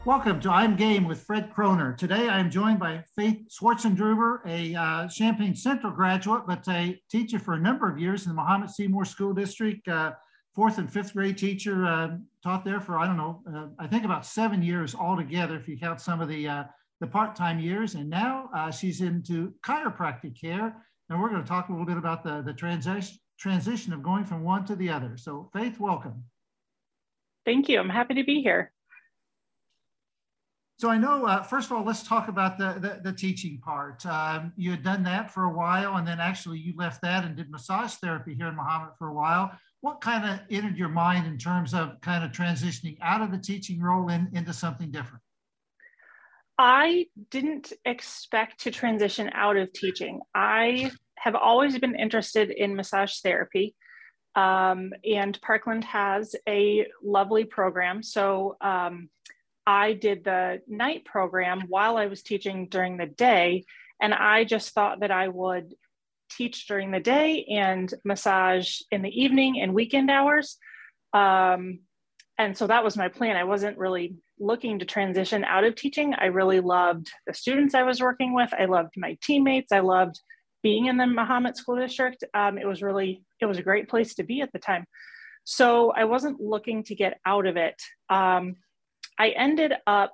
Welcome to I'm Game with Fred Kroner. Today I am joined by Faith Schwarzendruber, a Champaign Central graduate, but a teacher for a number of years in the Mahomet Seymour School District, fourth and fifth grade teacher, taught there for, I think about 7 years altogether, if you count some of the part-time years. And now she's into chiropractic care. And we're going to talk a little bit about the transition of going from one to the other. So Faith, welcome. Thank you. I'm happy to be here. So I know, first of all, let's talk about the teaching part. You had done that for a while, and then actually you left that and did massage therapy here in Mahomet for a while. What kind of entered your mind in terms of kind of transitioning out of the teaching role into something different? I didn't expect to transition out of teaching. I have always been interested in massage therapy, and Parkland has a lovely program. So I did the night program while I was teaching during the day, and I just thought that I would teach during the day and massage in the evening and weekend hours. And so that was my plan. I wasn't really looking to transition out of teaching. I really loved the students I was working with. I loved my teammates. I loved being in the Mahomet School District. It was a great place to be at the time. So I wasn't looking to get out of it. I ended up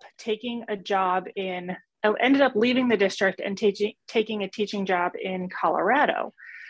leaving the district and taking a teaching job in Colorado.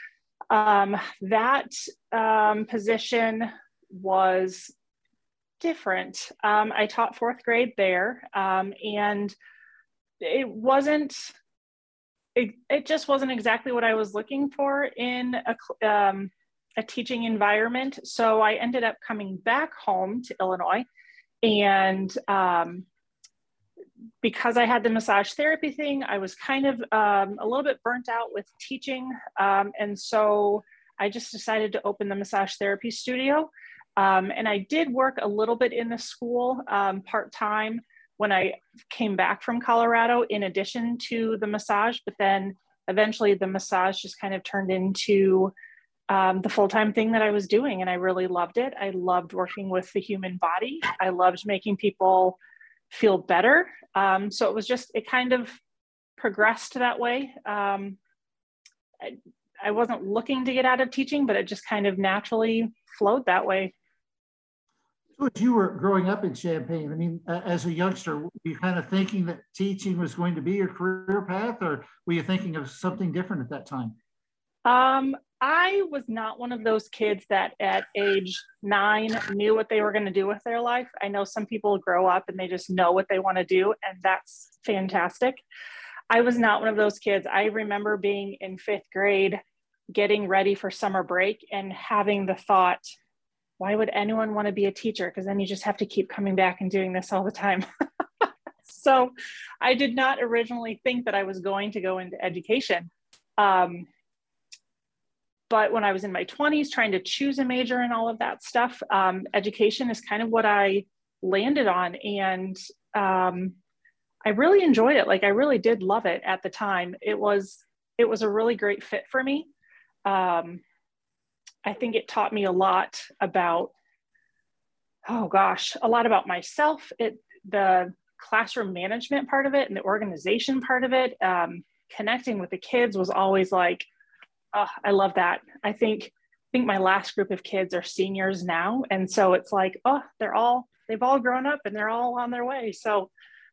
That position was different. I taught fourth grade there, and it just wasn't exactly what I was looking for in a teaching environment. So I ended up coming back home to Illinois. And because I had the massage therapy thing, I was kind of a little bit burnt out with teaching. And so I just decided to open the massage therapy studio. And I did work a little bit in the school part-time when I came back from Colorado, in addition to the massage. But then eventually the massage just kind of turned into the full-time thing that I was doing, and I really loved it. I loved working with the human body. I loved making people feel better. So it kind of progressed that way. I wasn't looking to get out of teaching, but it just kind of naturally flowed that way. So as you were growing up in Champaign, I mean, as a youngster, were you kind of thinking that teaching was going to be your career path, or were you thinking of something different at that time? I was not one of those kids that at age 9 knew what they were going to do with their life. I know some people grow up and they just know what they want to do, and that's fantastic. I was not one of those kids. I remember being in 5th grade, getting ready for summer break and having the thought, why would anyone want to be a teacher? Because then you just have to keep coming back and doing this all the time. So I did not originally think that I was going to go into education. But when I was in my 20s, trying to choose a major and all of that stuff, education is kind of what I landed on. And I really enjoyed it. Like, I really did love it at the time. It was a really great fit for me. I think it taught me a lot about, a lot about myself. The classroom management part of it and the organization part of it, connecting with the kids was always like, oh, I love that. I think my last group of kids are seniors now. And so it's like, oh, they've all grown up and they're all on their way. So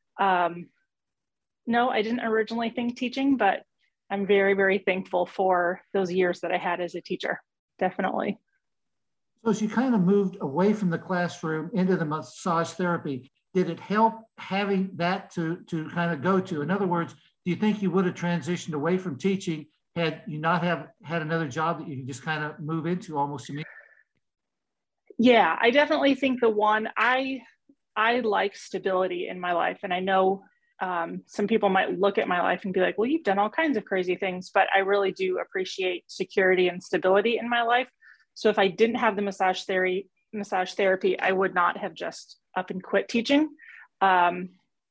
no, I didn't originally think teaching, but I'm very, very thankful for those years that I had as a teacher. Definitely. So as you kind of moved away from the classroom into the massage therapy, did it help having that to kind of go to? In other words, do you think you would have transitioned away from teaching had you not have had another job that you could just kind of move into almost immediately? Yeah, I definitely think I like stability in my life. And I know some people might look at my life and be like, well, you've done all kinds of crazy things, but I really do appreciate security and stability in my life. So if I didn't have the massage therapy, I would not have just up and quit teaching. I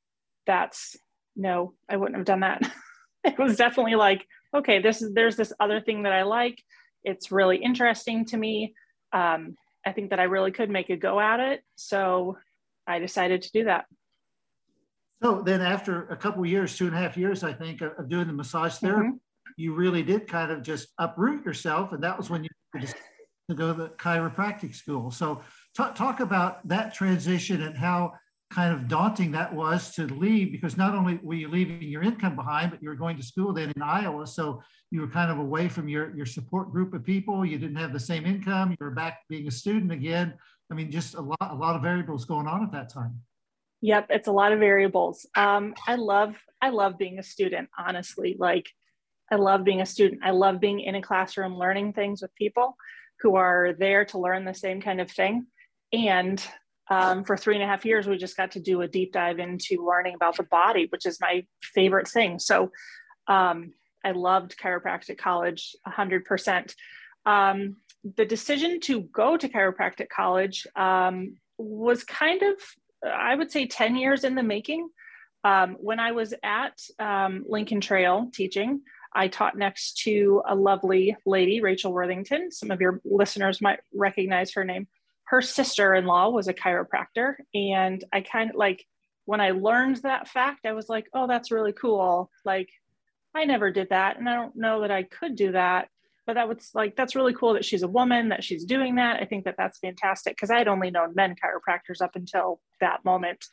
wouldn't have done that. It was definitely like, okay, there's this other thing that I like. It's really interesting to me. I think that I really could make a go at it. So I decided to do that. So then after a couple of years, 2.5 years, I think, of doing the massage therapy, you really did kind of just uproot yourself. And that was when you decided to go to the chiropractic school. So talk about that transition and how kind of daunting that was to leave, because not only were you leaving your income behind, but you were going to school then in Iowa. So you were kind of away from your support group of people. You didn't have the same income. You were back being a student again. I mean, just a lot of variables going on at that time. Yep, it's a lot of variables. I love being a student, honestly. Like, I love being a student. I love being in a classroom, learning things with people who are there to learn the same kind of thing. And for 3.5 years, we just got to do a deep dive into learning about the body, which is my favorite thing. So I loved chiropractic college 100%. The decision to go to chiropractic college was kind of, I would say, 10 years in the making. When I was at Lincoln Trail teaching, I taught next to a lovely lady, Rachel Worthington. Some of your listeners might recognize her name. Her sister-in-law was a chiropractor. And I kind of like, when I learned that fact, I was like, oh, that's really cool. Like, I never did that. And I don't know that I could do that. But that was like, that's really cool that she's a woman, that she's doing that. I think that that's fantastic, because I had only known men chiropractors up until that moment.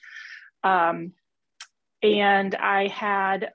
And I had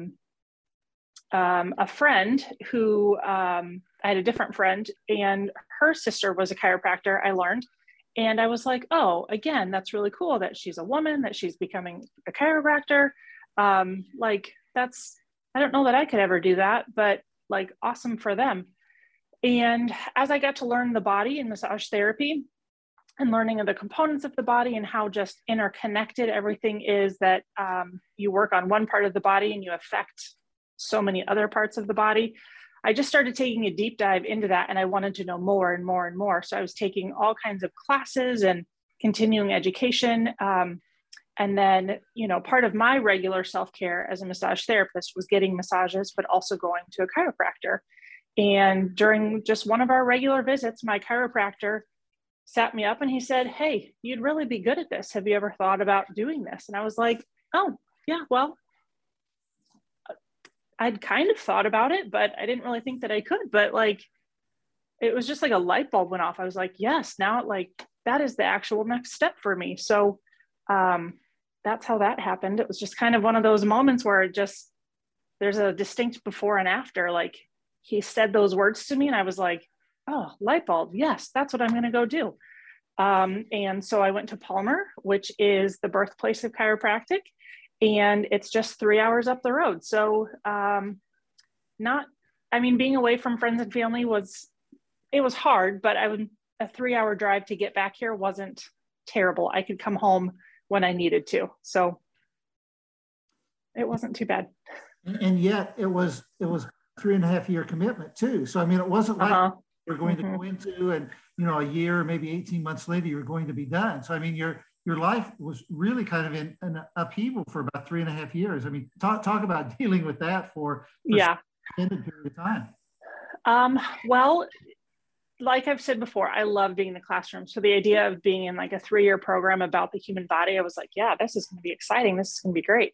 a friend who, I had a different friend, and her sister was a chiropractor, I learned. And I was like, oh, again, that's really cool that she's a woman, that she's becoming a chiropractor. Like, that's, I don't know that I could ever do that, but like, awesome for them. And as I got to learn the body and massage therapy and learning of the components of the body and how just interconnected everything is, that you work on one part of the body and you affect so many other parts of the body, I just started taking a deep dive into that, and I wanted to know more and more and more. So I was taking all kinds of classes and continuing education. And then, you know, part of my regular self-care as a massage therapist was getting massages, but also going to a chiropractor. And during just one of our regular visits, my chiropractor sat me up and he said, hey, you'd really be good at this. Have you ever thought about doing this? And I was like, oh, yeah, well, I'd kind of thought about it, but I didn't really think that I could. But like, it was just like a light bulb went off. I was like, yes, now like that is the actual next step for me. So that's how that happened. It was just kind of one of those moments where it just, there's a distinct before and after. Like, he said those words to me and I was like, oh, light bulb. Yes, that's what I'm going to go do. And so I went to Palmer, which is the birthplace of chiropractic, and it's just 3 hours up the road. So being away from friends and family was hard, but a 3-hour drive to get back here wasn't terrible. I could come home when I needed to. So it wasn't too bad. And yet it was 3.5 year commitment too. So, I mean, it wasn't like you're going to go into and, you know, a year, maybe 18 months later, you're going to be done. So, I mean, your life was really kind of in an upheaval for about 3.5 years. I mean, talk about dealing with that for an extended period of time. Well, like I've said before, I love being in the classroom. So the idea of being in like a 3-year program about the human body, I was like, yeah, this is going to be exciting. This is going to be great.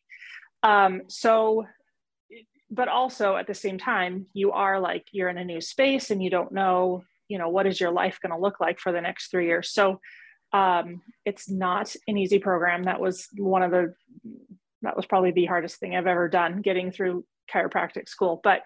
But also at the same time, you're in a new space and you don't know, you know, what is your life going to look like for the next 3 years. So it's not an easy program. That was probably the hardest thing I've ever done, getting through chiropractic school. But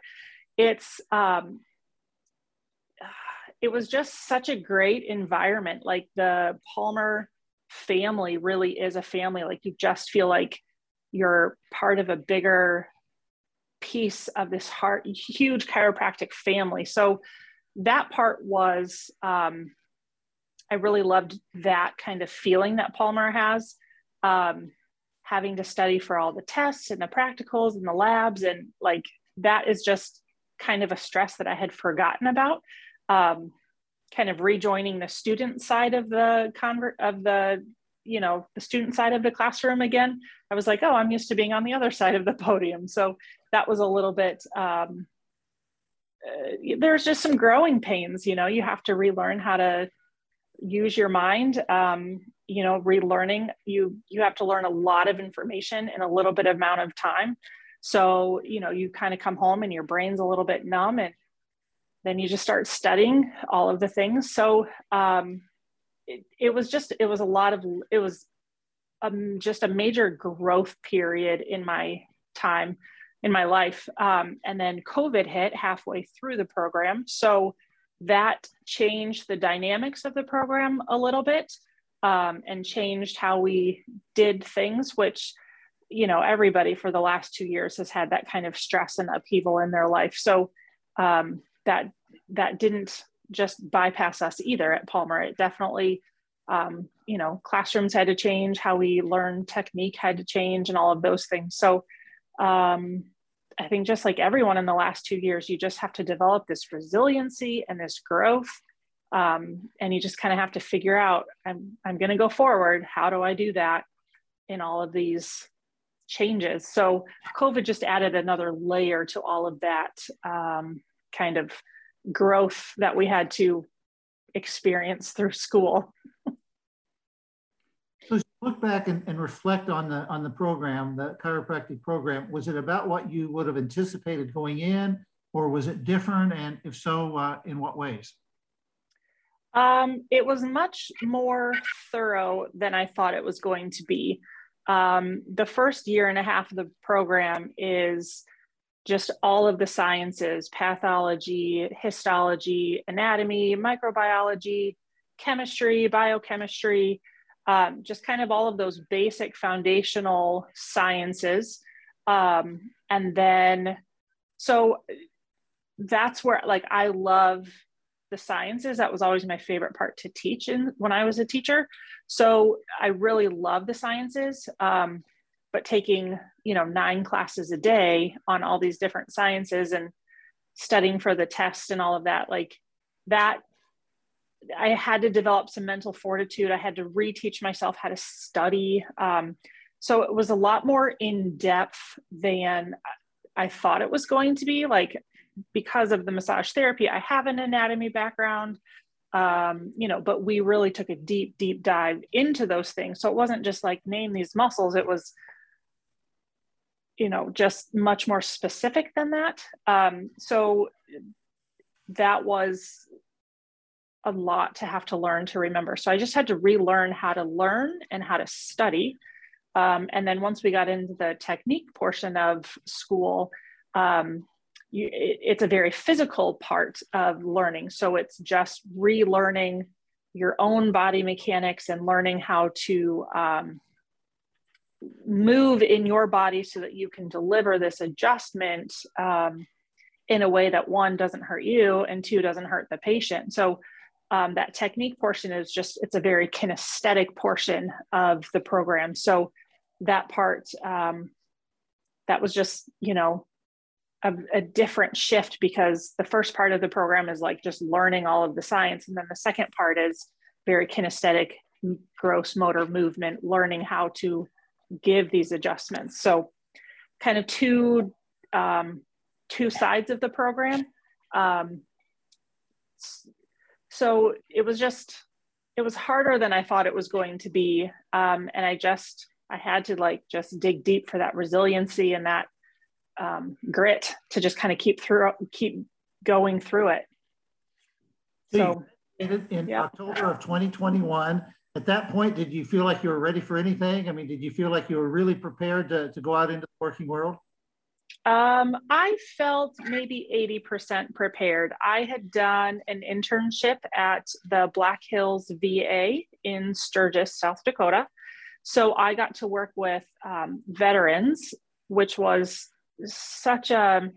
it was just such a great environment. Like, the Palmer family really is a family. Like, you just feel like you're part of a bigger piece of this huge chiropractic family. So that part was, I really loved that kind of feeling that Palmer has, having to study for all the tests and the practicals and the labs. And like, that is just kind of a stress that I had forgotten about. Kind of rejoining the student side of the student side of the classroom again. I was like, oh, I'm used to being on the other side of the podium. So that was a little bit, there's just some growing pains, you know, you have to relearn how to use your mind, you know, relearning. You have to learn a lot of information in a little bit of amount of time. So, you know, you kind of come home and your brain's a little bit numb, and then you just start studying all of the things. So it was just a major growth period in my time in my life. And then COVID hit halfway through the program. So that changed the dynamics of the program a little bit, and changed how we did things, which, you know, everybody for the last 2 years has had that kind of stress and upheaval in their life. So that didn't just bypass us either at Palmer. It definitely, you know, classrooms had to change, how we learn technique had to change, and all of those things. So I think just like everyone in the last 2 years, you just have to develop this resiliency and this growth. And you just kind of have to figure out, I'm going to go forward. How do I do that in all of these changes? So COVID just added another layer to all of that kind of growth that we had to experience through school. So as you look back and reflect on the program, the chiropractic program, was it about what you would have anticipated going in, or was it different? And if so, in what ways? It was much more thorough than I thought it was going to be. The first year and a half of the program is just all of the sciences: pathology, histology, anatomy, microbiology, chemistry, biochemistry, just kind of all of those basic foundational sciences. And then, so that's where, like, I love the sciences. That was always my favorite part to teach when I was a teacher. So I really love the sciences, but taking, you know, 9 classes a day on all these different sciences and studying for the test and all of that, like that, I had to develop some mental fortitude. I had to reteach myself how to study. So it was a lot more in depth than I thought it was going to be. Like, because of the massage therapy, I have an anatomy background, you know, but we really took a deep dive into those things. So it wasn't just like, name these muscles. It was, you know, just much more specific than that. So that was a lot to have to learn to remember. So I just had to relearn how to learn and how to study. And then once we got into the technique portion of school, it's a very physical part of learning. So it's just relearning your own body mechanics and learning how to move in your body so that you can deliver this adjustment in a way that, 1, doesn't hurt you, and 2, doesn't hurt the patient. So that technique portion is just, it's a very kinesthetic portion of the program. So that part, that was just, you know, a different shift, because the first part of the program is like just learning all of the science. And then the second part is very kinesthetic, gross motor movement, learning how to give these adjustments. So kind of two sides of the program. So it was harder than I thought it was going to be. And I had to like just dig deep for that resiliency and that grit to just kind of keep going through it. So in October of 2021, at that point, did you feel like you were ready for anything? I mean, did you feel like you were really prepared to go out into the working world? I felt maybe 80% prepared. I had done an internship at the Black Hills VA in Sturgis, South Dakota. So I got to work with veterans, which was such a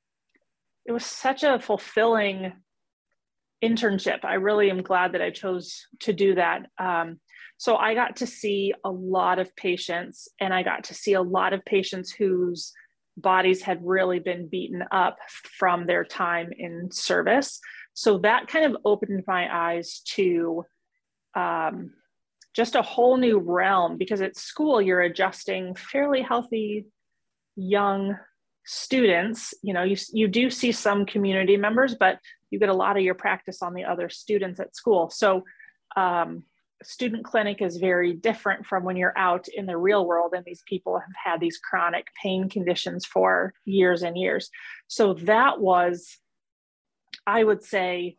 fulfilling internship. I really am glad that I chose to do that. So I got to see a lot of patients, and I got to see a lot of patients whose bodies had really been beaten up from their time in service. So that kind of opened my eyes to just a whole new realm, because at school you're adjusting fairly healthy young students. You know, you do see some community members, but you get a lot of your practice on the other students at school. So student clinic is very different from when you're out in the real world and these people have had these chronic pain conditions for years and years. So that was, I would say,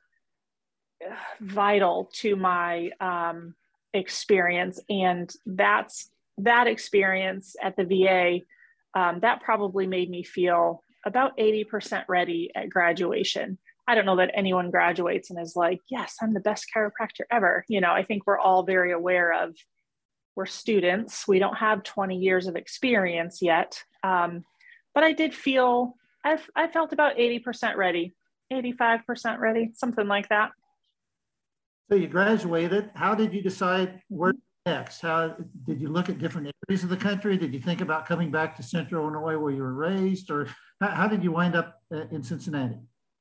vital to my experience. And that experience at the VA, that probably made me feel about 80% ready at graduation. I don't know that anyone graduates and is like, yes, I'm the best chiropractor ever. You know, I think we're all very aware of, we're students. We don't have 20 years of experience yet. But I did feel, I felt about 80% ready, 85% ready, something like that. So you graduated. How did you decide where next? How did you look at different areas of the country? Did you think about coming back to Central Illinois where you were raised, or how did you wind up in Cincinnati?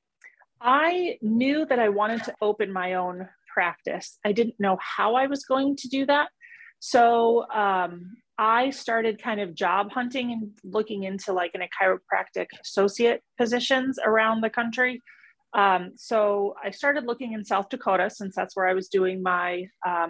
I knew that I wanted to open my own practice. I didn't know how I was going to do that. So I started kind of job hunting and looking into like in a chiropractic associate positions around the country. So I started looking in South Dakota since that's where I was doing my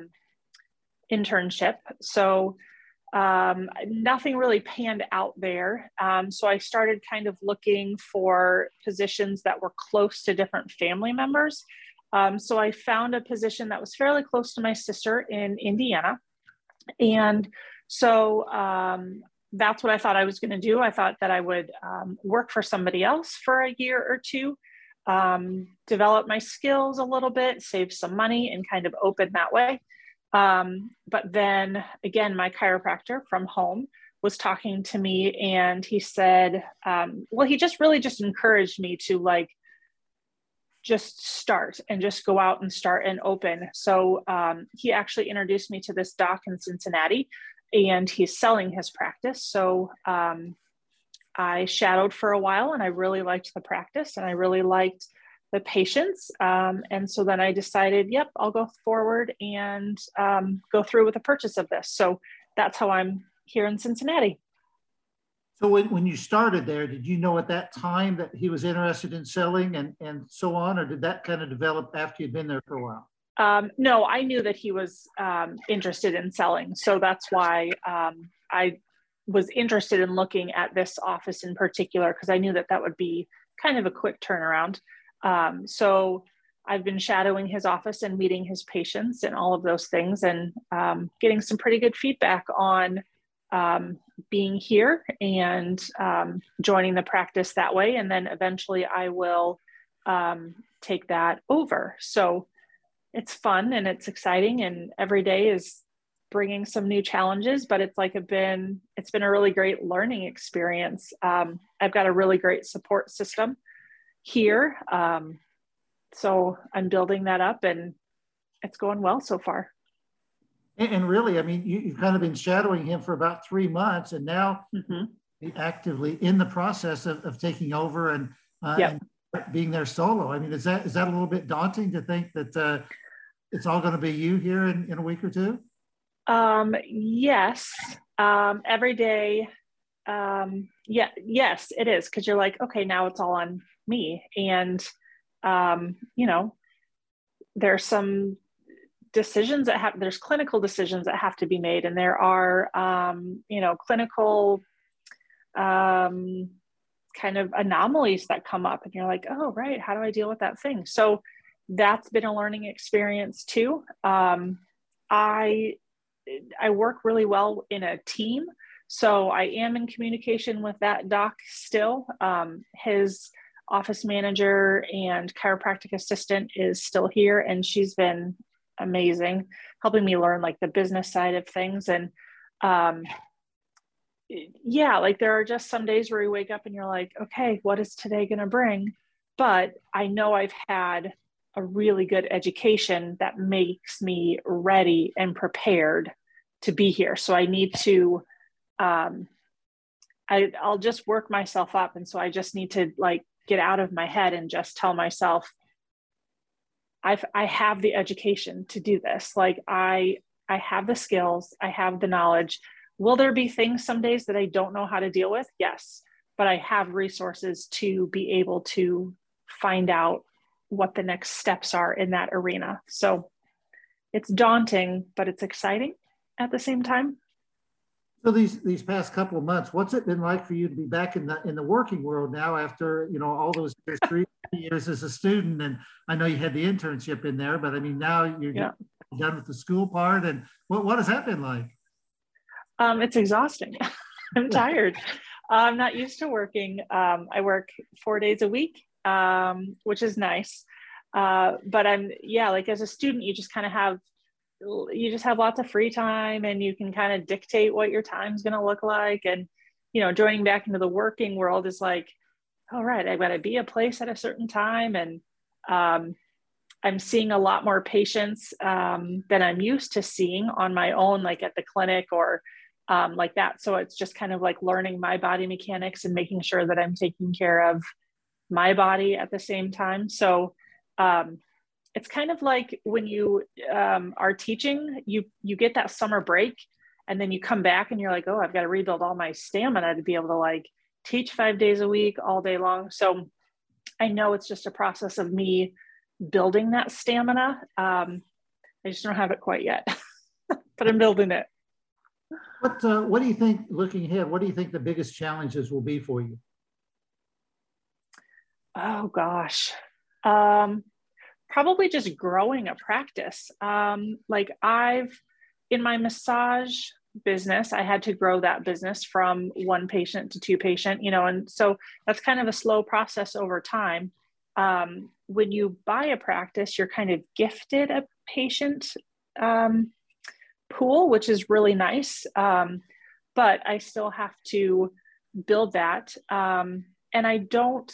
internship. So nothing really panned out there. So I started kind of looking for positions that were close to different family members. So I found a position that was fairly close to my sister in Indiana. And so that's what I thought I was going to do. I thought that I would work for somebody else for a year or two, develop my skills a little bit, save some money, and kind of open that way. But then again, my chiropractor from home was talking to me and he said, well, he just really just encouraged me to like, just start and just go out and start and open. So he actually introduced me to this doc in Cincinnati and he's selling his practice. So I shadowed for a while and I really liked the practice and I really liked the patients. And so then I decided, yep, I'll go forward and go through with the purchase of this. So that's how I'm here in Cincinnati. So when you started there, did you know at that time that he was interested in selling and so on, or did that kind of develop after you'd been there for a while? No, I knew that he was interested in selling. So that's why I was interested in looking at this office in particular, because I knew that that would be kind of a quick turnaround. So I've been shadowing his office and meeting his patients and all of those things and getting some pretty good feedback on being here and joining the practice that way. And then eventually I will take that over. So it's fun and it's exciting and every day is bringing some new challenges, but it's been a really great learning experience. I've got a really great support system here. So I'm building that up and it's going well so far. And really, I mean, you've kind of been shadowing him for about 3 months and now actively in the process of taking over and being there solo. I mean, is that a little bit daunting to think that it's all going to be you here in a week or two? Yes. Every day. Yes, it is. Cause you're like, okay, now it's all on me. And, there's some decisions there's clinical decisions that have to be made. And there are, clinical, kind of anomalies that come up and you're like, oh, right. How do I deal with that thing? So that's been a learning experience too. I work really well in a team. So I am in communication with that doc still. His office manager and chiropractic assistant is still here and she's been amazing, helping me learn like the business side of things. And there are just some days where you wake up and you're like, okay, what is today going to bring? But I know I've had a really good education that makes me ready and prepared to be here. So I need to, I'll just work myself up. And so I just need to like get out of my head and just tell myself, I have the education to do this. Like I have the skills, I have the knowledge. Will there be things some days that I don't know how to deal with? Yes, but I have resources to be able to find out what the next steps are in that arena. So it's daunting, but it's exciting at the same time. So these past couple of months, what's it been like for you to be back in the working world now after, you know, all those years, 3 years as a student? And I know you had the internship in there, but I mean, now you're done with the school part. And what has that been like? It's exhausting. I'm tired. I'm not used to working. I work 4 days a week, which is nice. But like as a student, you just kind of have lots of free time, and you can kind of dictate what your time's going to look like. And, you know, joining back into the working world is like, all right, I've got to be a place at a certain time. And I'm seeing a lot more patients than I'm used to seeing on my own, like at the clinic or like that. So it's just kind of like learning my body mechanics and making sure that I'm taking care of my body at the same time. So it's kind of like when you are teaching, you get that summer break, and then you come back and you're like, oh, I've got to rebuild all my stamina to be able to like teach 5 days a week all day long. So I know it's just a process of me building that stamina. I just don't have it quite yet, but I'm building it. What do you think, looking ahead, what do you think the biggest challenges will be for you? Oh gosh. Probably just growing a practice. Like in my massage business, I had to grow that business from 1 patient to 2 patient, you know, and so that's kind of a slow process over time. When you buy a practice, you're kind of gifted a patient pool, which is really nice. But I still have to build that. And I don't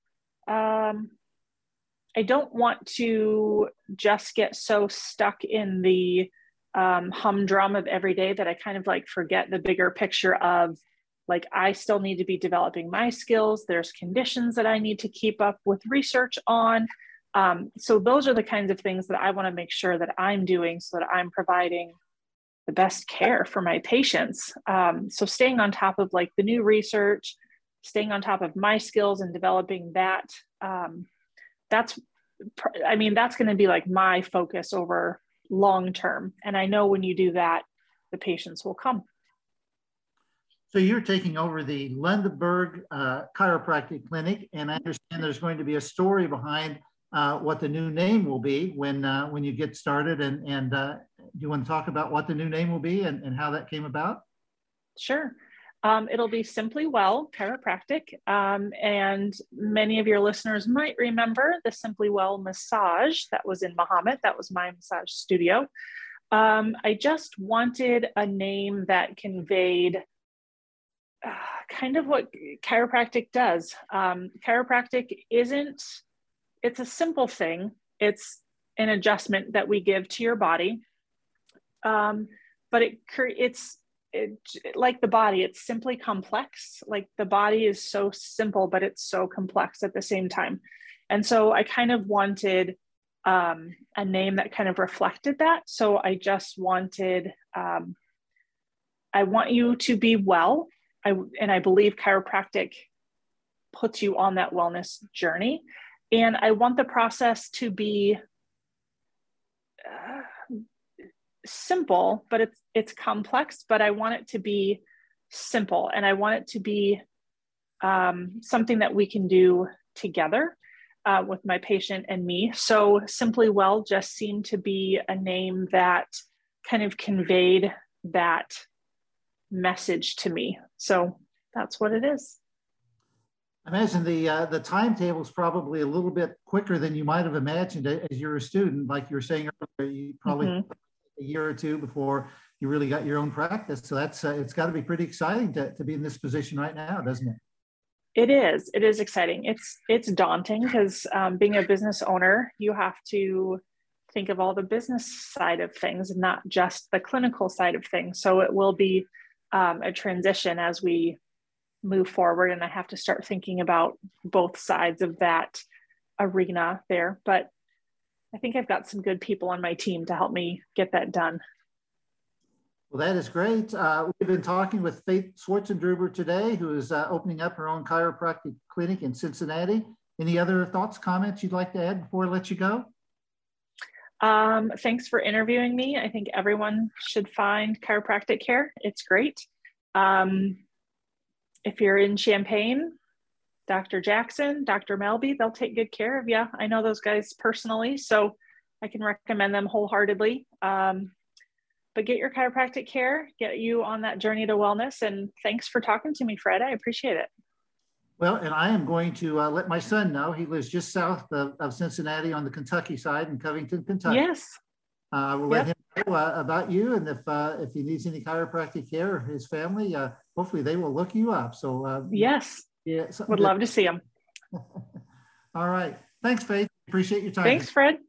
want to just get so stuck in the humdrum of every day that I kind of like forget the bigger picture of like, I still need to be developing my skills. There's conditions that I need to keep up with research on. So those are the kinds of things that I want to make sure that I'm doing so that I'm providing the best care for my patients. So staying on top of like the new research, staying on top of my skills and developing that, that's going to be like my focus over long term. And I know when you do that, the patients will come. So you're taking over the Lundeberg Chiropractic Clinic, and I understand there's going to be a story behind what the new name will be when you get started. And do you want to talk about what the new name will be and how that came about? Sure. It'll be Simply Well Chiropractic. And many of your listeners might remember the Simply Well massage that was in Mahomet. That was my massage studio. I just wanted a name that conveyed kind of what chiropractic does. Chiropractic it's a simple thing. It's an adjustment that we give to your body. But it's like the body, it's simply complex. Like the body is so simple, but it's so complex at the same time. And so I kind of wanted a name that kind of reflected that. So I just wanted, I want you to be well. And I believe chiropractic puts you on that wellness journey. And I want the process to be simple, but it's complex, but I want it to be simple. And I want it to be something that we can do together with my patient and me. So Simply Well just seemed to be a name that kind of conveyed that message to me. So that's what it is. I imagine the timetable is probably a little bit quicker than you might have imagined as you're a student. Like you were saying earlier, you probably a year or two before you really got your own practice. So that's it's got to be pretty exciting to be in this position right now, doesn't it? It is. It is exciting. It's daunting because being a business owner, you have to think of all the business side of things, not just the clinical side of things. So it will be a transition as we move forward, and I have to start thinking about both sides of that arena there. But I think I've got some good people on my team to help me get that done. Well, that is great. We've been talking with Faith Swartzendruber today, who is opening up her own chiropractic clinic in Cincinnati. Any other thoughts, comments you'd like to add before I let you go? Thanks for interviewing me. I think everyone should find chiropractic care. It's great. If you're in Champaign, Dr. Jackson, Dr. Melby, they'll take good care of you. I know those guys personally, so I can recommend them wholeheartedly. But get your chiropractic care, get you on that journey to wellness. And thanks for talking to me, Fred. I appreciate it. Well, and I am going to let my son know. He lives just south of Cincinnati on the Kentucky side in Covington, Kentucky. Yes. I will let him know about you, and if he needs any chiropractic care, or his family, hopefully they will look you up. So yes, would love to see him. All right. Thanks, Faith. Appreciate your time. Thanks, Fred.